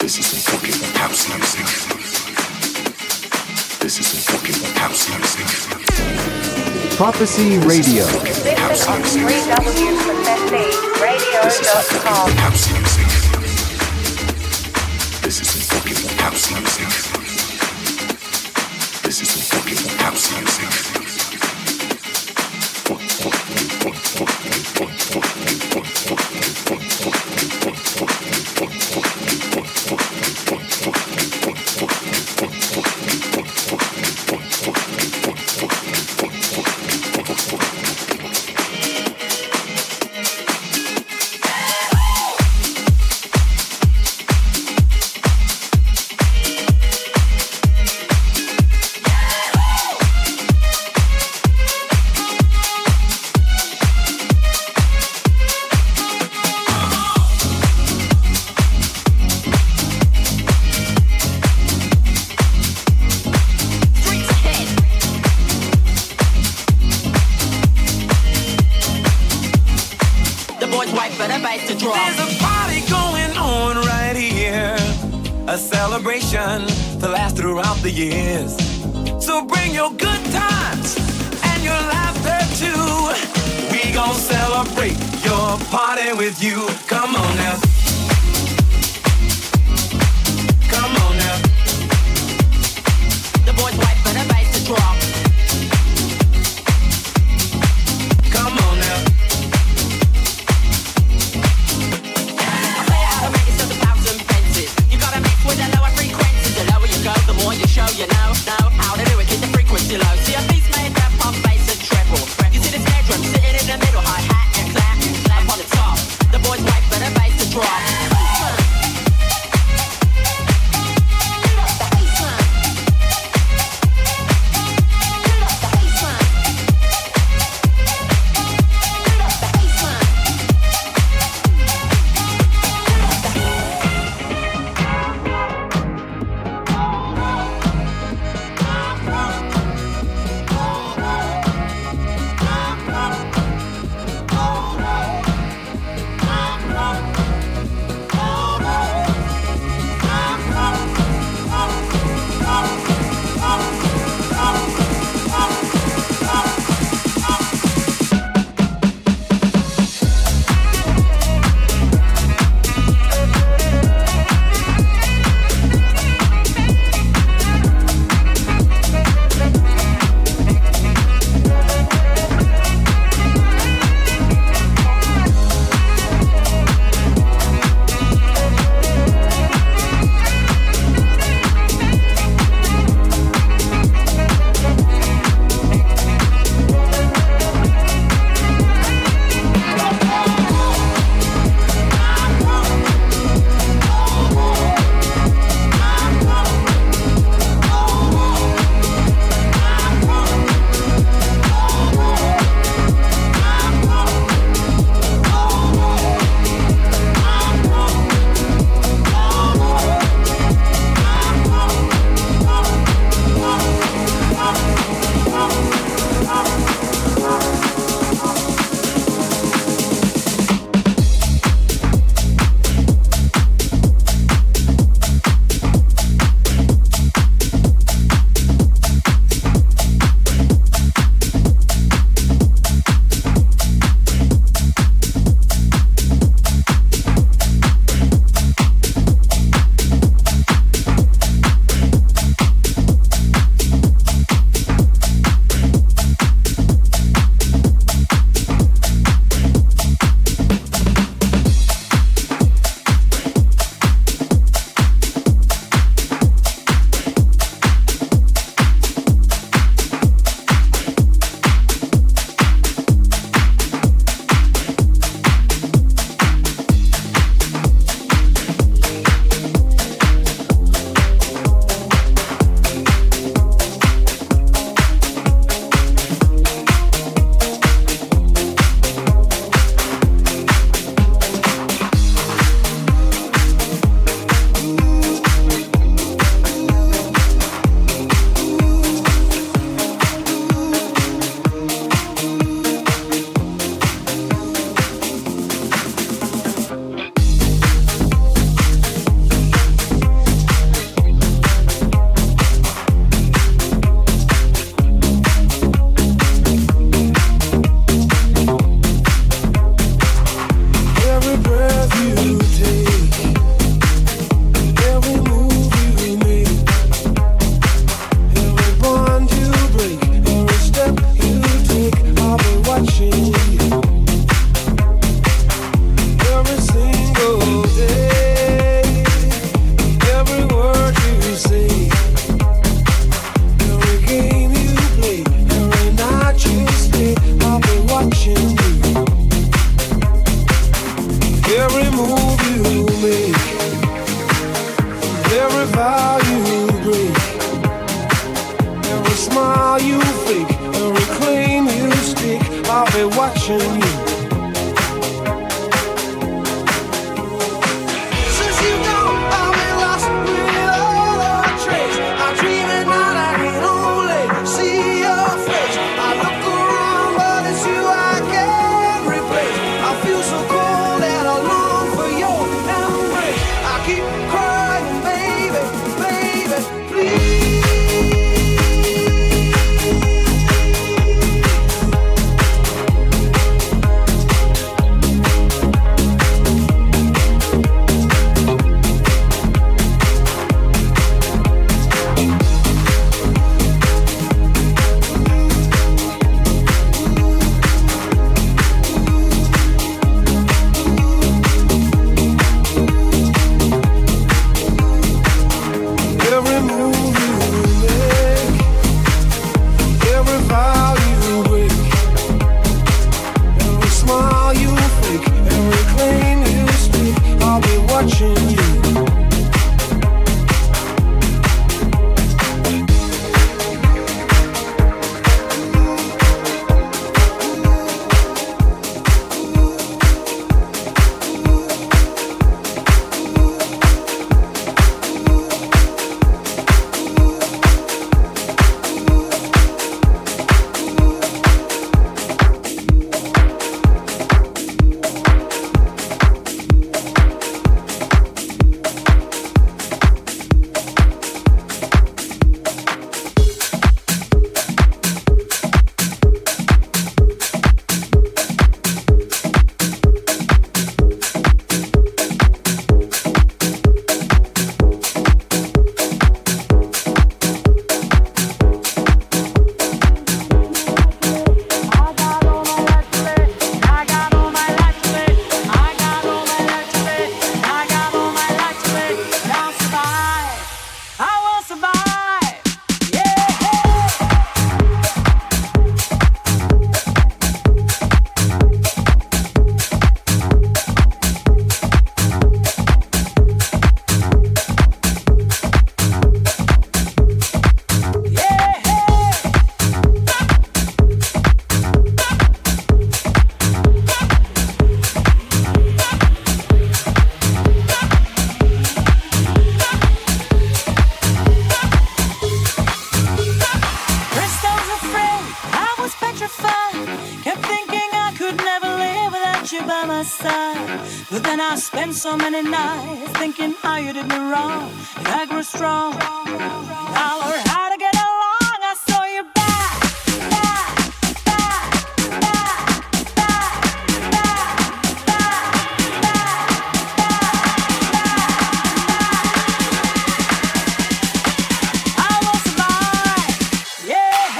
This is some fucking house music. This is some fucking house music. Prophecy Radio. Listen on www.prophecyradio.com. House music. This is some fucking house music. This is some fucking house music. To last throughout the years. So bring your good times and your laughter too. We gon' celebrate your party with you. Come on now. Come on now. The boys wait for the bass to drop. Come on now. I play how to make it so the powers and fences. You gotta mix with the lower frequencies. The lower you go, the more you show you know how to do it. Keep the frequency low. See a beat's made that pop, bass and treble. You see the snare drum sitting in the middle, hi-hat and clap upon the top. The boys wait for the bass to drop. Every vow you break, every smile you fake, every claim you stick, I'll be watching you. Since you gone, I've been lost without a trace. I dream at night, I can only see your face. I look around, but it's you I can't replace. I feel so cold and I long for your embrace. I keep crying, baby, baby, please. Every move you make, every vow you break, every smile you fake, every claim you speak, I'll be watching you. So many nights thinking how you did me wrong, and I grew strong. I learned how to get along. I saw you back. I will survive. Yeah.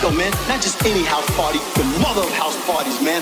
disco, man. Not just any house party, the mother of house parties, man.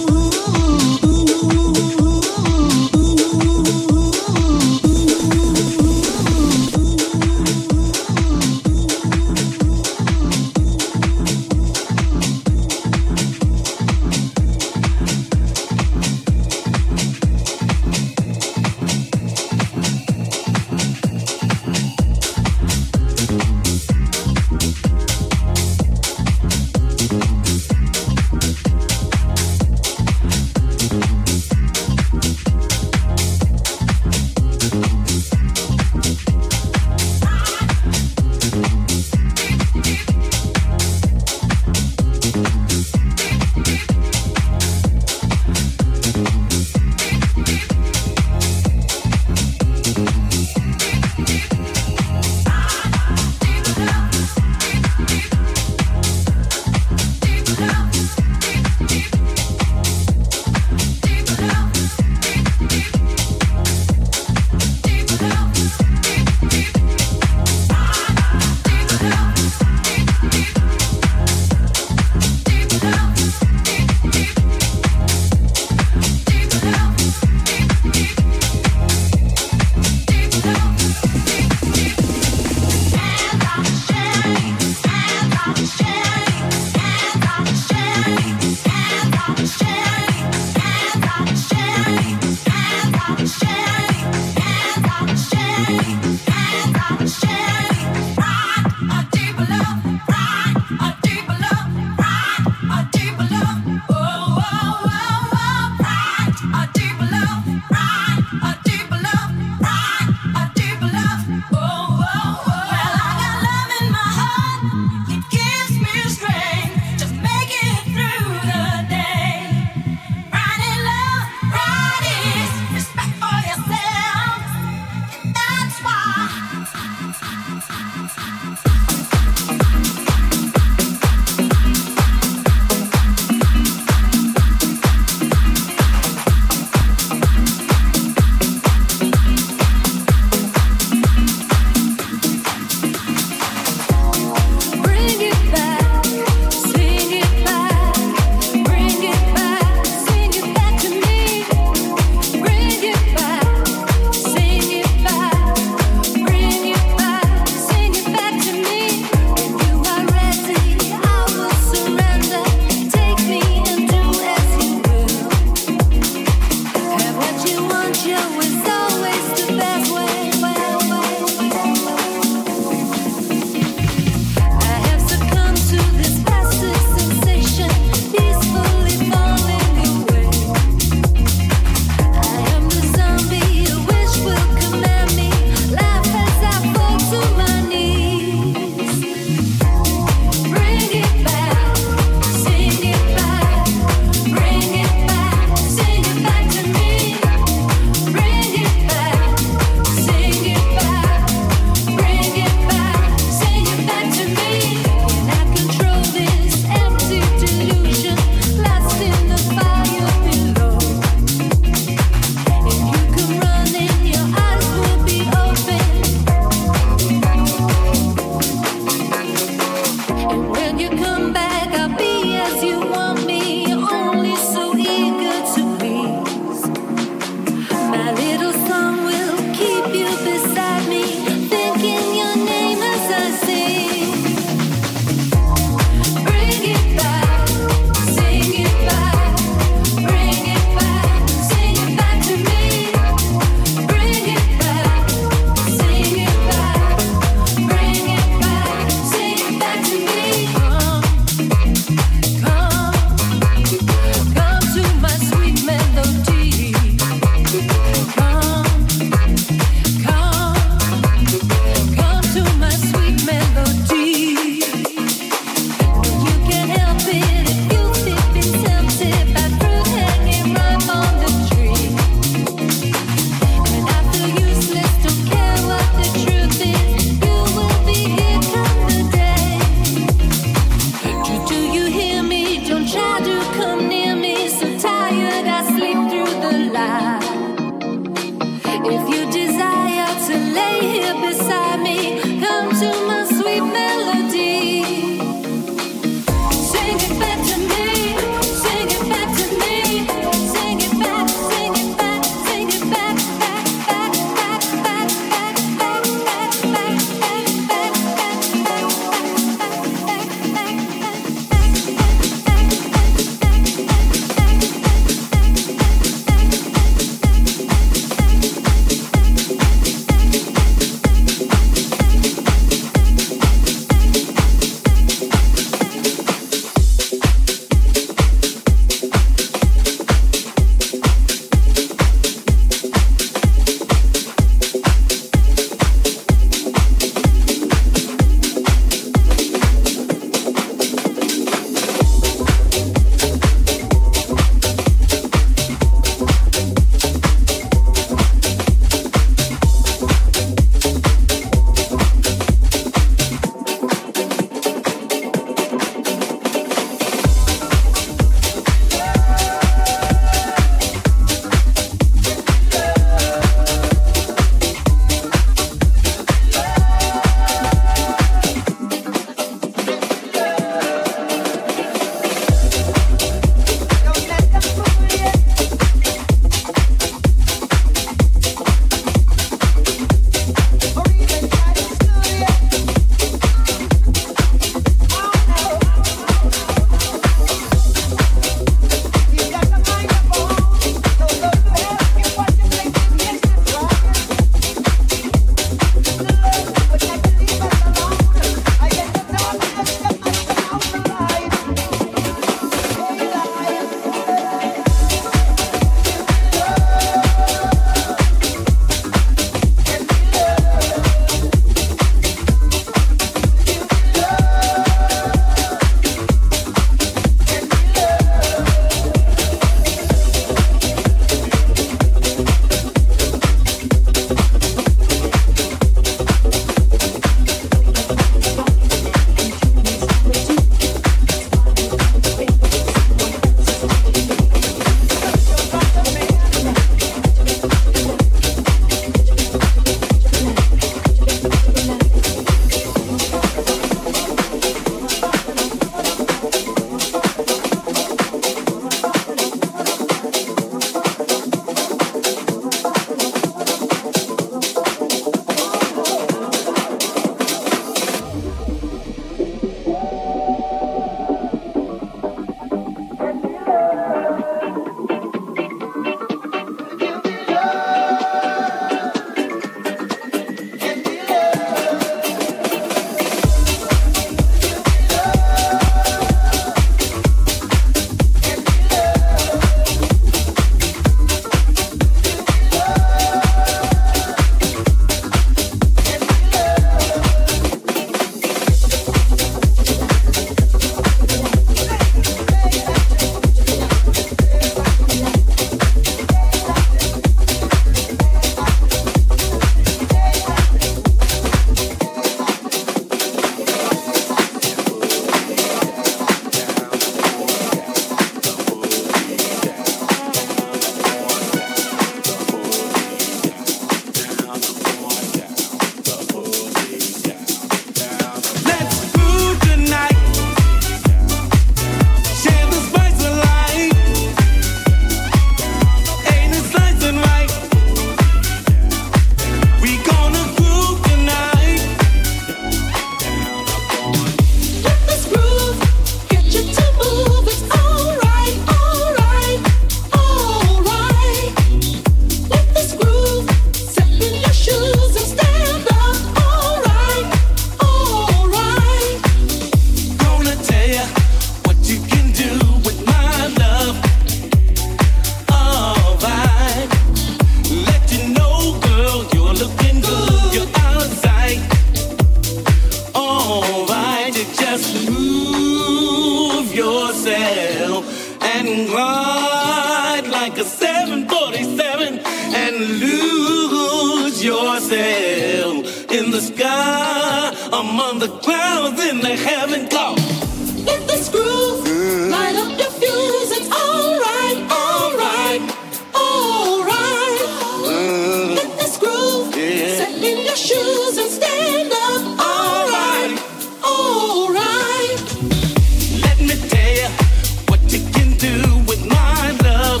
yourself in the sky, among the clouds in the heaven. Go. Let this groove light up your fuse. It's alright, alright, alright. Let this groove set in your shoes and stand up. Alright, alright. Let me tell you what you can do with my love.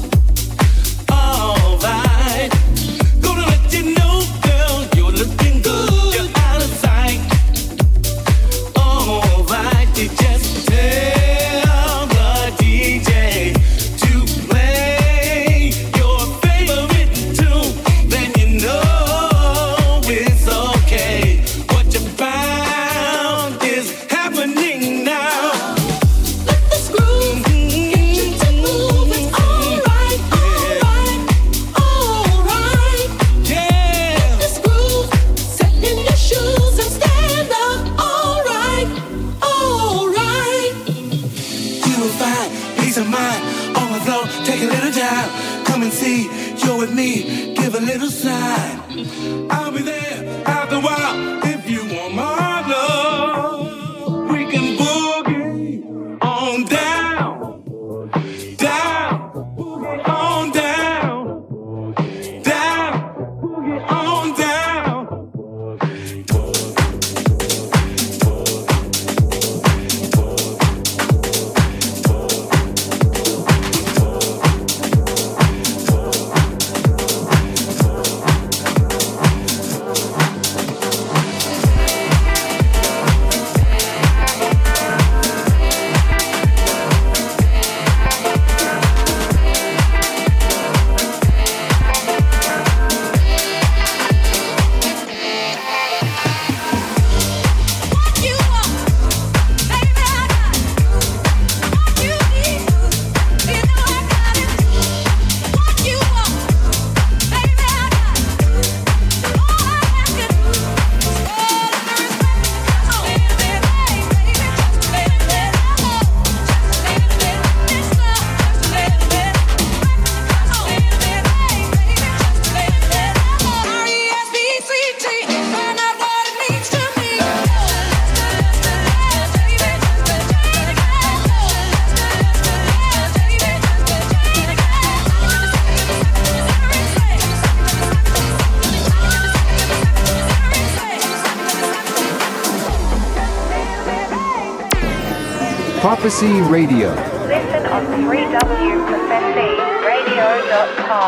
Alright. Gonna let you know, girl, you're looking good. You're out of sight. Alright, you just tell the DJ to play your favorite tune. Then you know it's okay. What you found is happening now. Let this groove get you to move. It's alright, alright, alright. Yeah. This groove set in your shoes and stand up. Alright, alright. You will find peace of mind on the floor. Take a little time. Come and see you're with me. Give a little sign. I'll be there after a while if you want my love. We can boogie on down, down, boogie on down, down, boogie on down. What you want, baby, I got it. What you need, you know I got it. What you want, baby, I got it. All I ask you is fall in respect. Just a little bit, baby, just a little bit of love, just a little bit of this love, just a little bit of respect, just a little bit, baby, just a little bit of love. R-E-S-P-C-T, find out what it means to me. Prophecy Radio. Listen on 3wprophecyradio.com.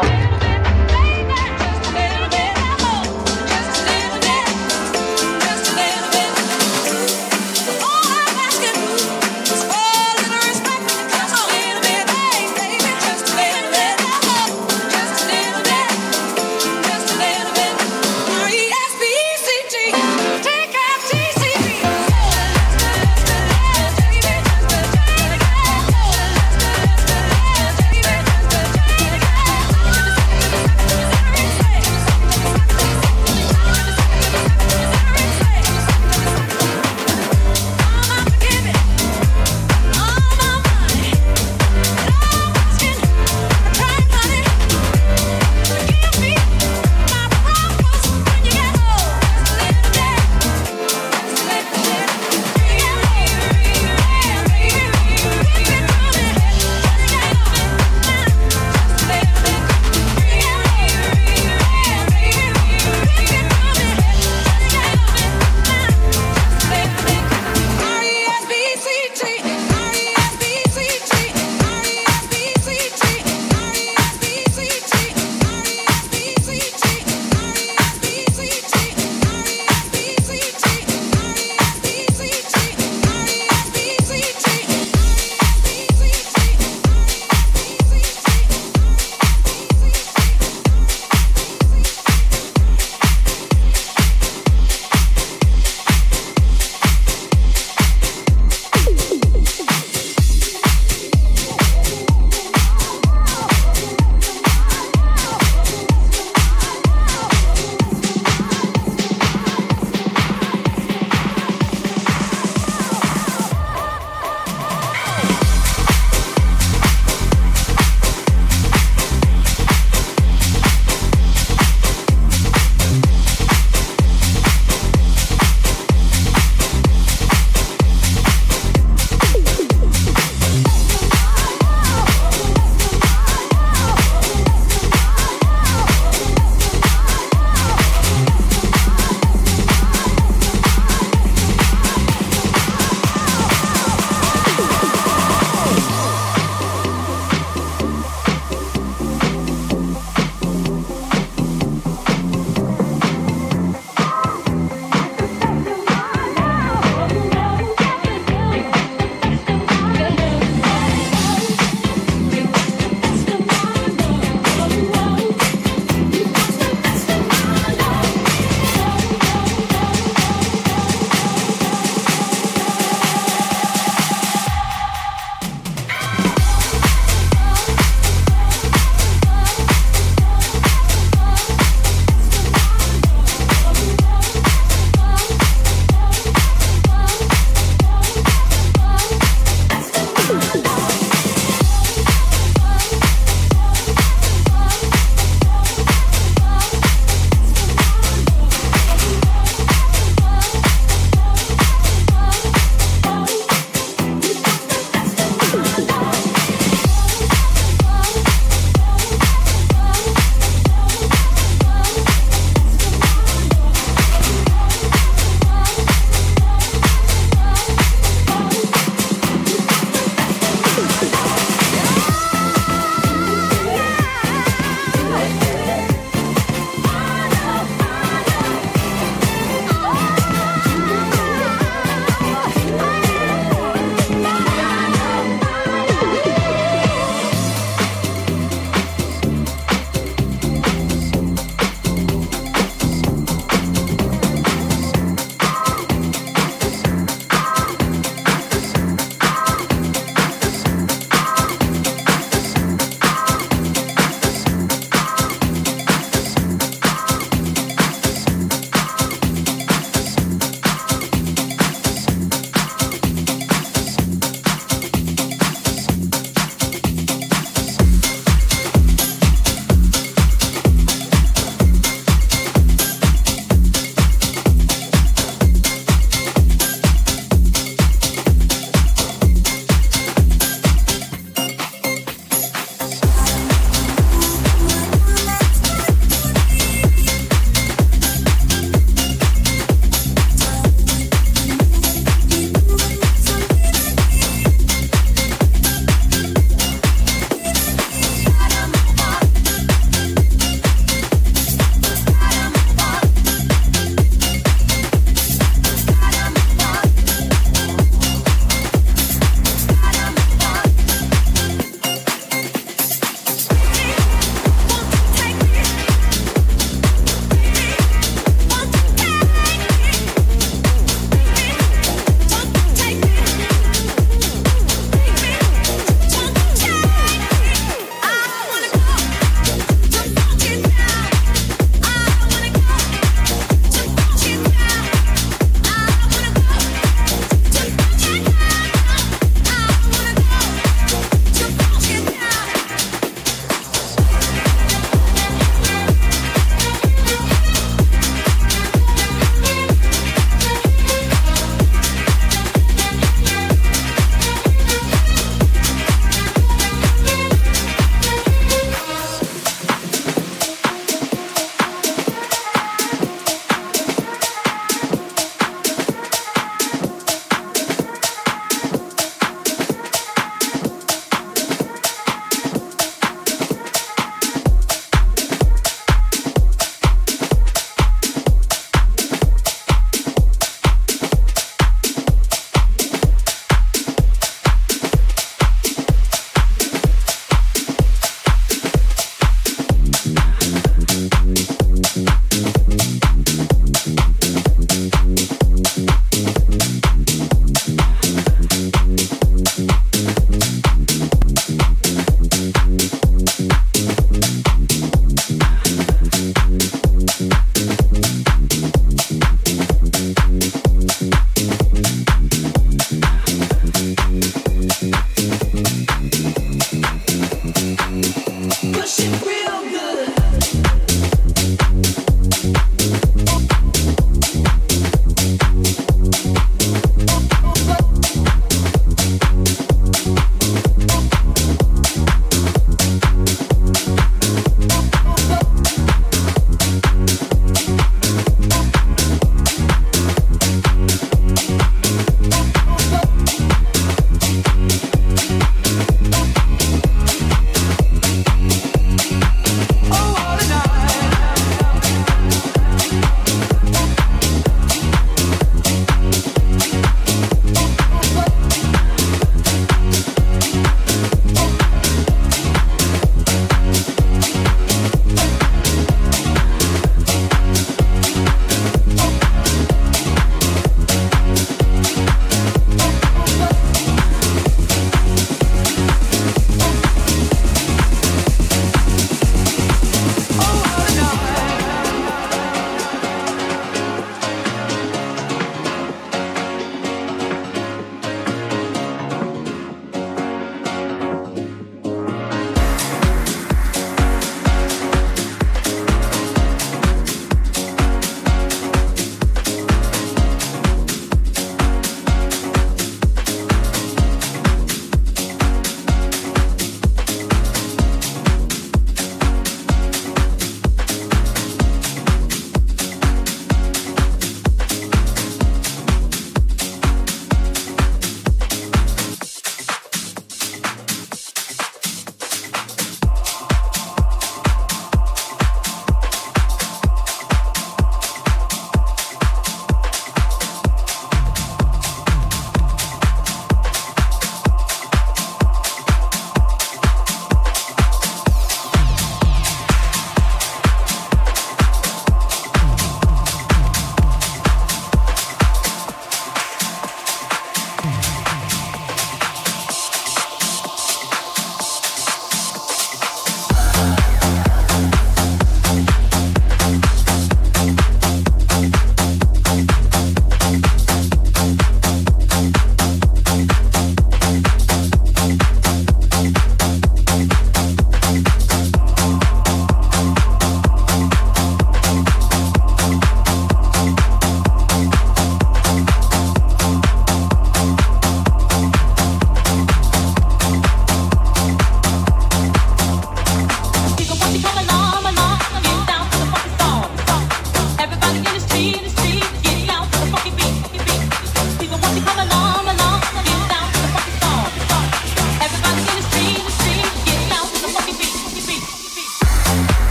Take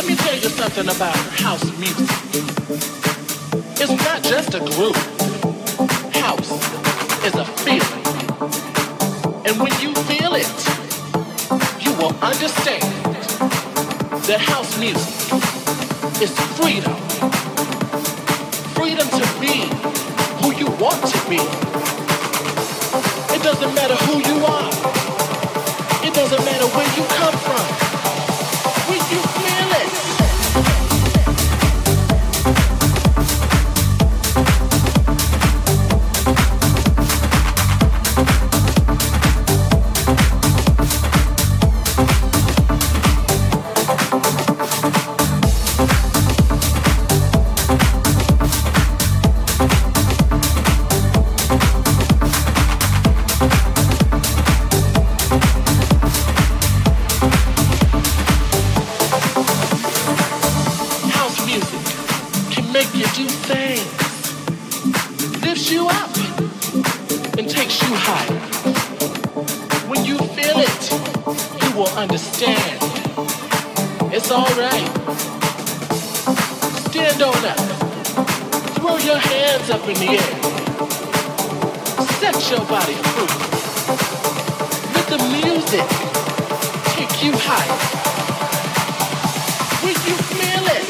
Let me tell you something about house music. It's not just a groove. House is a feeling. And when you feel it, you will understand that house music is freedom. Freedom to be who you want to be. It doesn't matter who you are. It doesn't matter where you come from. When you feel it. Understand. It's alright. Stand on up. Throw your hands up in the air. Set your body free. Let the music take you higher. When you feel it.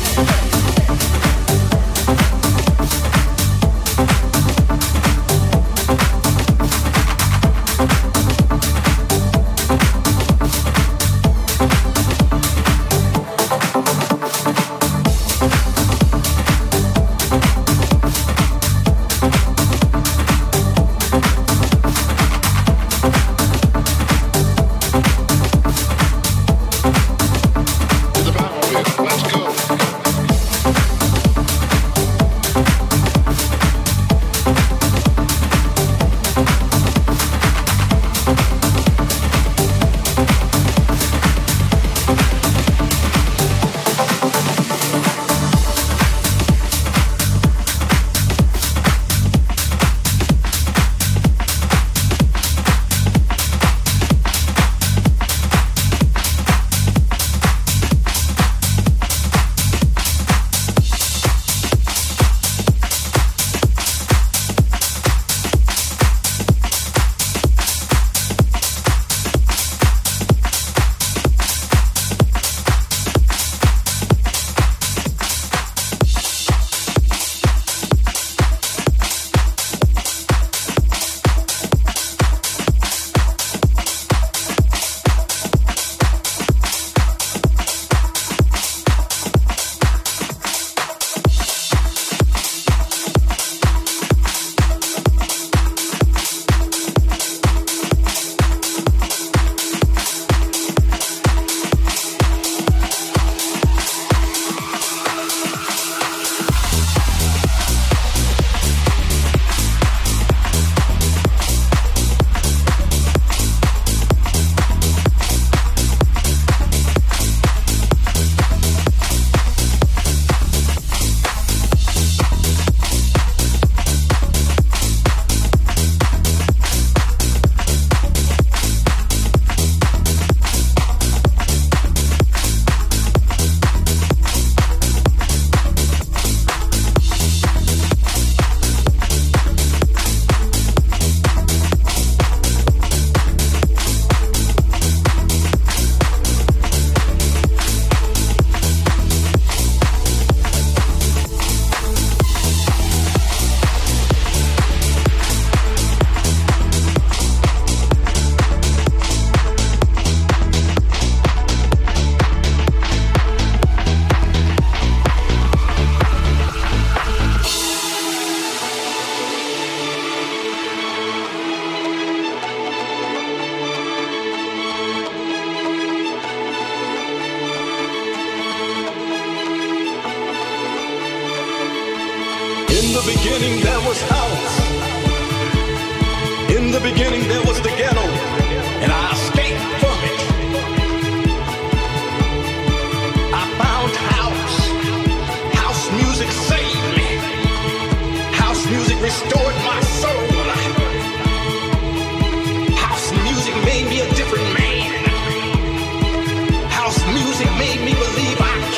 the beginning there was house. In the beginning there was the ghetto, and I escaped from it. I found house. House music saved me. House music restored my soul. House music made me a different man. House music made me believe I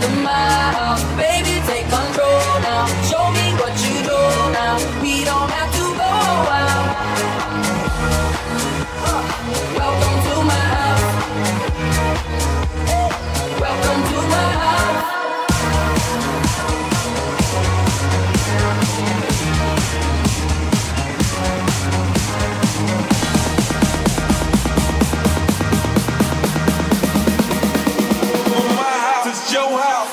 under my house. Baby, take control now. Show me what you do now. We don't have to go out. Welcome to my house. Welcome to my house. Your house.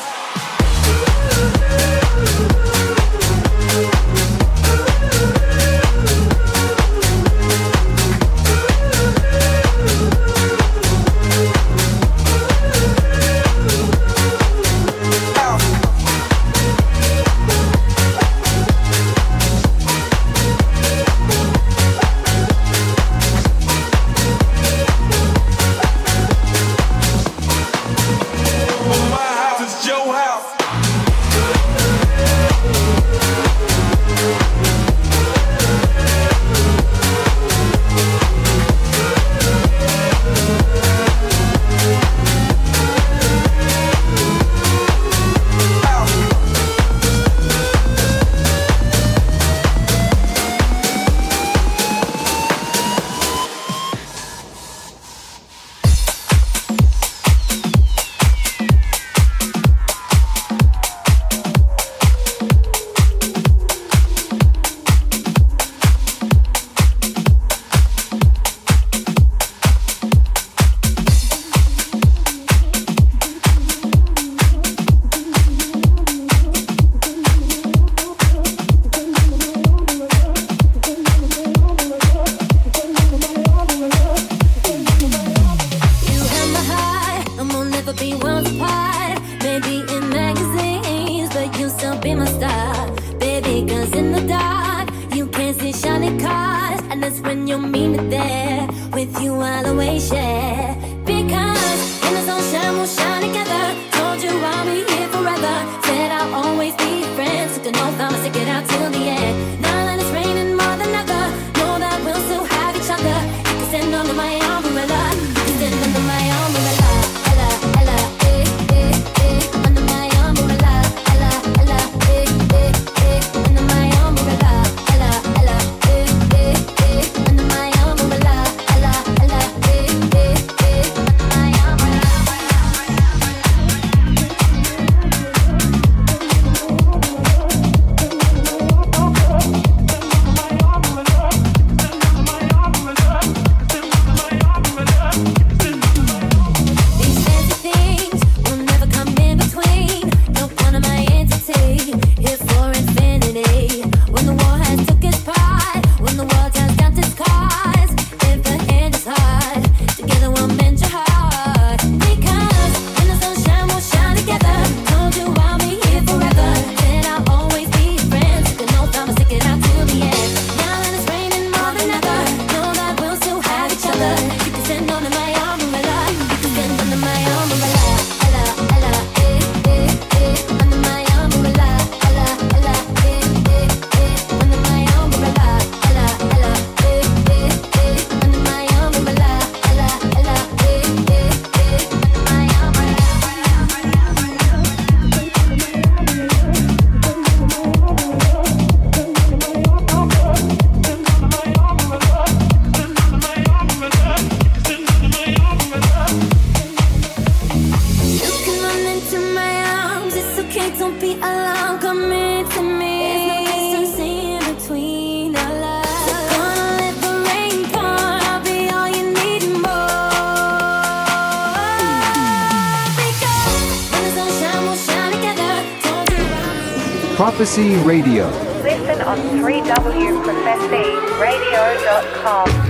Prophecy Radio. Listen on 3wprophecyradio.com.